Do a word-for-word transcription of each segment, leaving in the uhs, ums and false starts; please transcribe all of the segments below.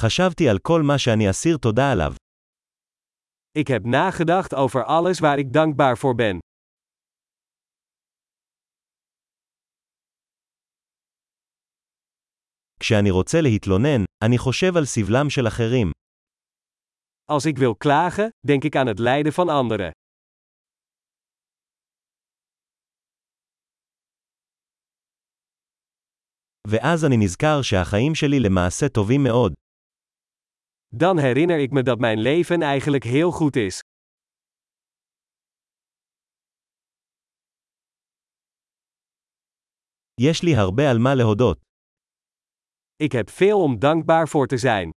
חשבתי על כל מה שאני אסיר תודה עליו. Ik heb nagedacht over alles waar ik dankbaar voor ben. כשאני רוצה להתלונן, אני חושב על סבלם של אחרים. Als ik wil klagen, denk ik aan het lijden van anderen. ואז אני נזכר שהחיים שלי למעשה טובים מאוד. Dan herinner ik me dat mijn leven eigenlijk heel goed is. יש לי הרבה על מה להודות. Ik heb veel om dankbaar voor te zijn.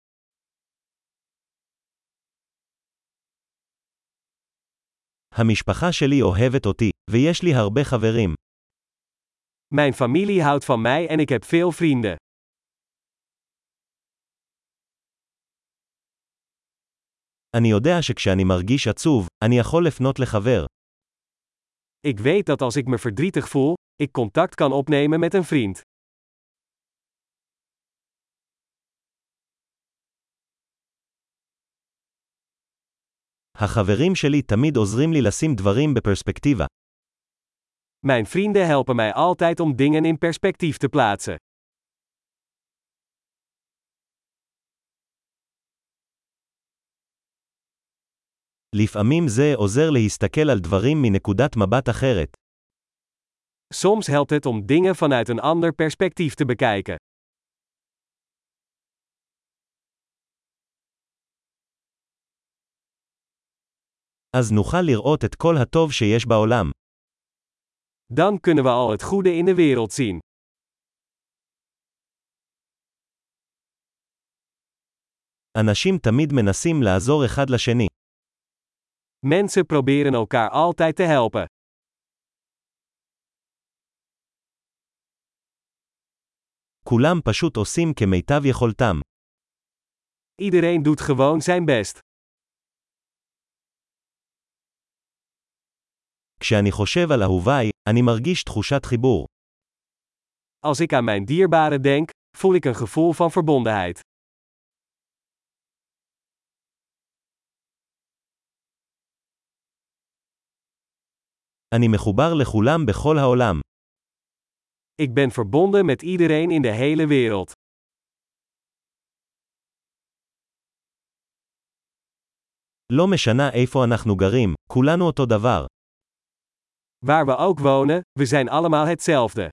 המשפחה שלי אוהבת אותי, ויש לי הרבה חברים. Mijn familie houdt van mij en ik heb veel vrienden. אני יודע שכשאני מרגיש עצוב, אני יכול לפנות לחבר. Ik weet dat als ik me verdrietig voel, ik contact kan opnemen met een vriend. החברים שלי תמיד עוזרים לי לשים דברים בפרספקטיבה. Mijn vrienden helpen mij altijd om dingen in perspectief te plaatsen. לפעמים זה עוזר להסתכל על דברים מנקודת מבט אחרת. Soms helpt het om dingen vanuit een ander perspectief te bekijken. אז נוכל לראות את כל הטוב שיש בעולם. Dan kunnen we al het goede in de wereld zien. אנשים תמיד מנסים לעזור אחד לשני. Mensen proberen elkaar altijd te helpen. כולם פשוט עושים כמיטב יכולתם. Iedereen doet gewoon zijn best. כשאני חושב על אהוביי, אני מרגיש תחושת חיבור. Als ik aan mijn dierbaren denk, voel ik een gevoel van verbondenheid. אני מחובר לכולם בכל העולם. Ik ben verbonden met iedereen in de hele wereld. לא משנה איפה אנחנו גרים, כולנו אותו דבר. Waar we ook wonen, we zijn allemaal hetzelfde.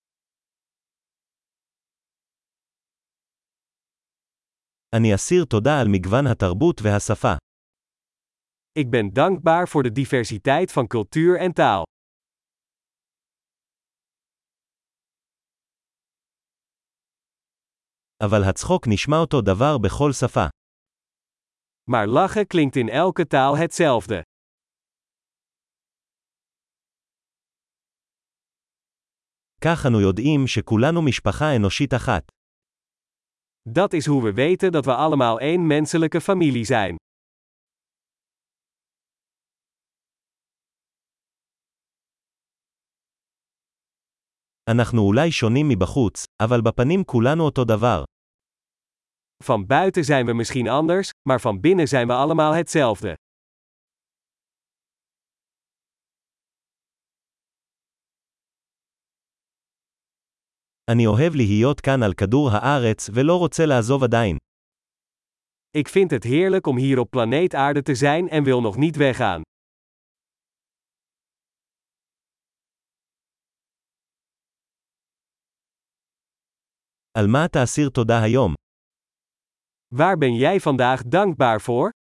אני אסיר תודה על מגוון התרבות והשפה. Ik ben dankbaar voor de diversiteit van cultuur en taal. אבל הצחוק נשמע אותו דבר בכל שפה. Maar lachen klinkt in elke taal hetzelfde. כך אנו יודעים שכולנו משפחה אנושית אחת. Dat is hoe we weten dat we allemaal één menselijke familie zijn. אנחנו אולי שונים מבחוץ, אבל בפנים כולנו אותו דבר. Van buiten zijn we misschien anders, maar van binnen zijn we allemaal hetzelfde. אני אוהב להיות כאן על כדור הארץ ולא רוצה לעזוב עדיין. Ik vind het heerlijk om hier op planeet Aarde te zijn en wil nog niet weggaan. על מה תאסיר תודה היום? Waar ben jij vandaag dankbaar voor?